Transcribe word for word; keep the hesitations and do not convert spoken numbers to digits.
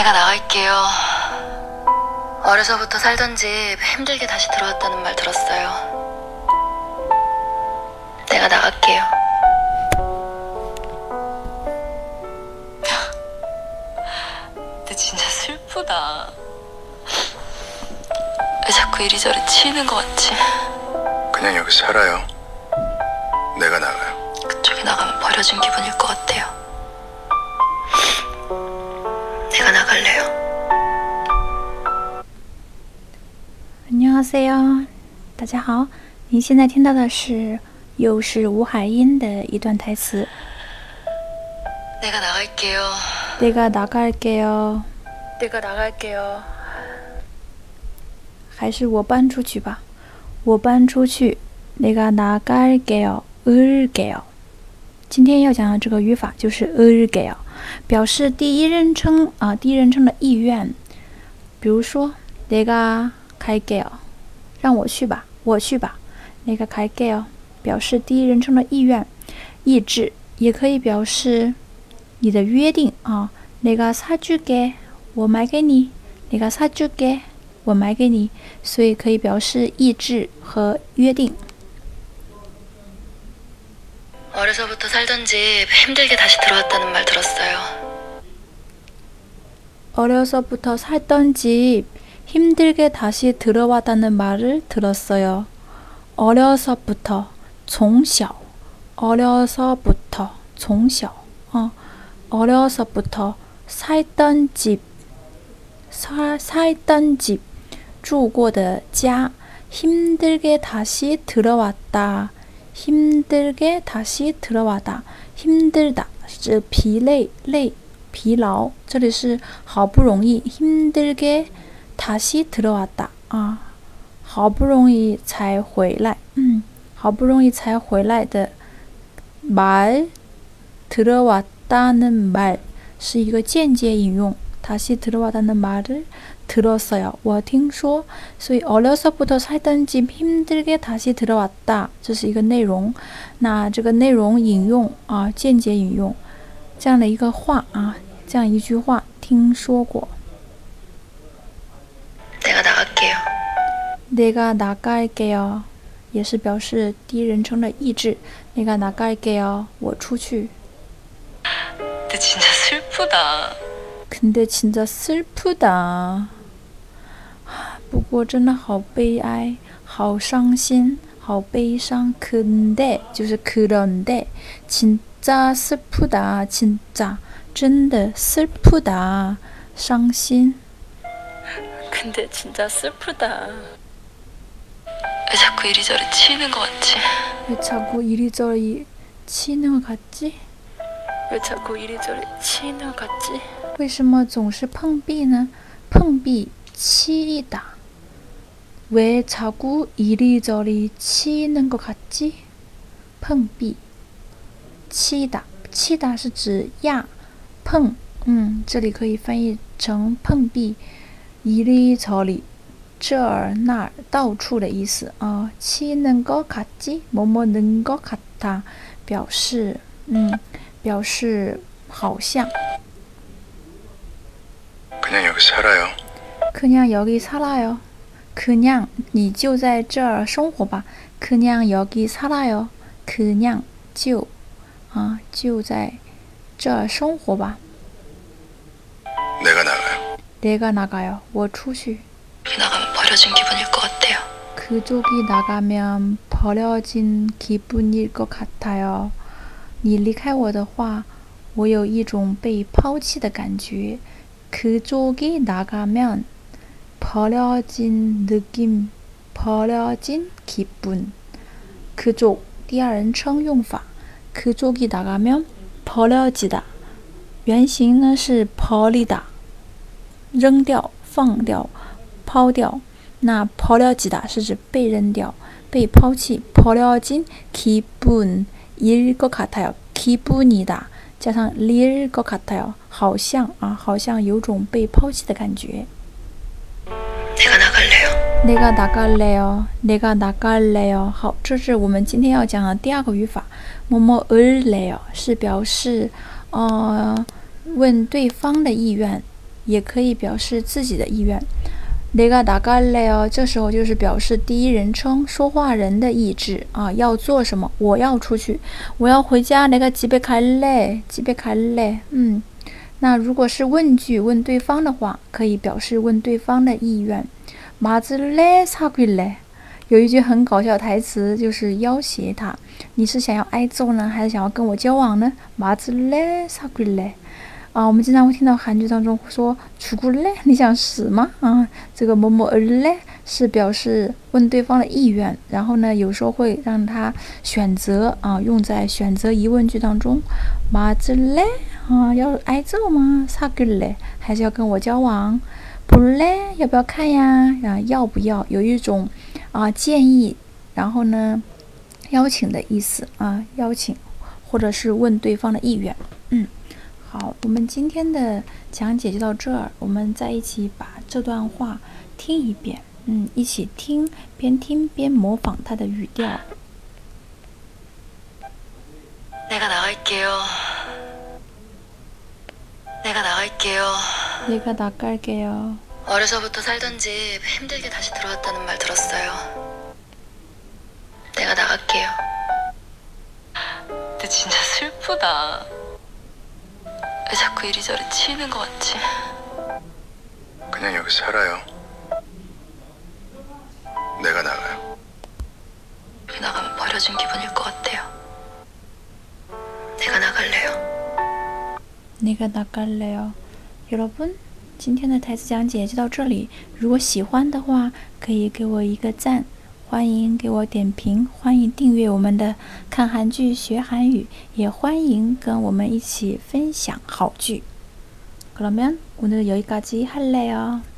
내가 나갈게요. 어려서부터 살던 집 힘들게 다시 들어왔다는 말 들었어요. 내가 나갈게요. 근데 진짜 슬프다. 왜 자꾸 이리저리 치이는 것 같지? 그냥 여기 살아요. 내가 나가요. 그쪽에 나가면 버려진 기분일 것 같아요. 내가 나갈래요. 안녕하세요，大家好，您现在听到的是又是吴海英的一段台词。 내가 나갈게요. 내가 나갈게요， 내가 나갈게요. 还是我搬出去吧，我搬出去。내가 나갈게요， 을게요。 今天要讲的这个语法就是 을게요， 表示第一人称啊，第一人称的意愿。比如说 내가 갈게요， 让我去吧，我去吧。내가 갈게요， 表示第一人称的意愿、意志，也可以表示你的约定啊。내가 사줄게， 我买给你。내가 사줄게， 我买给你，所以可以表示意志和约定。 어려서부터 살던 집 힘들게 다시 들어왔다는 말 들었어요. 어려서부터 살던 집 힘들게 다시 들어왔다는 말을 들었어요. 어려서부터 从小 어려서부터 从小 어, 어려서부터 살던 집 사, 살던 집 住过的家 힘들게 다시 들어왔다 힘들게 다시 들어왔다 힘들다 是疲累累疲劳这里是好不容易 힘들게 다시 들어왔다啊好不容易才回来嗯好不容易才回来的말 들어왔다는 말是一个间接引用 다시 들어왔다는 말을 들었어요. 我听说所以 어려서부터 살던 집 힘들게 다시 들어왔다 这是一个内容那这个内容引用啊间接引用这样的一个话啊这样一句话听说过 내가 나갈게요. 내가 나갈게요 也是表示第一人称的意志 내가 나갈게요 我出去 근데 진짜 슬프다. 근데 진짜 슬프다 不过真的好悲哀好伤心好悲伤 근데 就是 그런데 진짜 슬프다 진짜 真的 슬프다 伤心 근데 진짜 슬프다. 왜 자꾸 이리저리 치이는 것 같지? 왜 자꾸 이리저리 치이는 것 같지? 왜 자꾸 이리저리 치이는 것 같지? 为什么总是碰壁呢？碰壁 치이다 왜 자꾸 이리저리 치이는 것 같지? 碰壁 치이다 치이다 是指压碰嗯这里可以翻译成碰壁 이리저리 这儿那儿到处的意思啊 치이는 것 같지? 뭐뭐는 것 같아 表示嗯表示好像 그냥 여기 살아요. 그냥 여기 살아요. 그냥 你就在这儿生活吧. 그냥 여기 살아요. 그냥 就啊就在这儿生活吧. 내가 나가요. 내가 나가요. 我出去. 나가면 버려진 기분일 것 같아요. 그쪽이 나가면 버려진 기분일 것 같아요. 你离开我的话我有一种被抛弃的感觉 그쪽이 나가면 버려진 느낌, 버려진 기분. 그쪽 第二人称用法 그쪽이 나가면 버려지다 原型呢是 버리다 扔掉放掉抛掉那 버려지다 是指被扔掉被抛弃 버려진 기분일 것 같아요 기분이다加上 릴 것 같아요 好像啊好像有种被抛弃的感觉 내가 나갈래요. 내가 나갈래요. 내가 나갈래요. 好，这是我们今天要讲的第二个语法。뭐뭐 을래요是表示呃问对方的意愿也可以表示自己的意愿。내가 나갈래요，这时候就是表示第一人称说话人的意志啊，要做什么？我要出去，我要回家。내가 집에 갈래， 집에 갈래。嗯，那如果是问句问对方的话，可以表示问对方的意愿。맞을래， 사귈래。有一句很搞笑的台词，就是要挟他：你是想要挨揍呢，还是想要跟我交往呢？맞을래， 사귈래。啊，我们经常会听到韩剧当中说“죽을래”，你想死吗？啊，这个“뭐뭐 을래”是表示问对方的意愿，然后呢，有时候会让他选择啊，用在选择疑问句当中。맞을래啊，要挨揍吗？사귈래还是要跟我交往？볼래要不要看呀？啊，要不要？有一种啊建议，然后呢邀请的意思啊，邀请或者是问对方的意愿。嗯。好，我们今天的讲解就到这儿，我们再一起把这段话听一遍，嗯，一起听，边听边模仿它的语调。 내가 나갈게요. 내가 나갈게요. 내가 나갈게요. 어려서부터 살던 집 힘들게 다시 들어왔다는 말 들었어요. 내가 나갈게요. 근데 진짜 슬프다. 왜 자꾸 이리저리 치이는 것 같지? 그냥 여기 살아요. 내가 나가요. 여기 나가면 버려진 기분일 것 같아요. 내가 나갈래요. 내가 나갈래요. 여러분，今天的台词讲解就到这里。如果喜欢的话，可以给我一个赞，欢迎给我点评，欢迎订阅我们的看韩剧学韩语，也欢迎跟我们一起分享好剧。그러면 오늘 여기까지 할래요.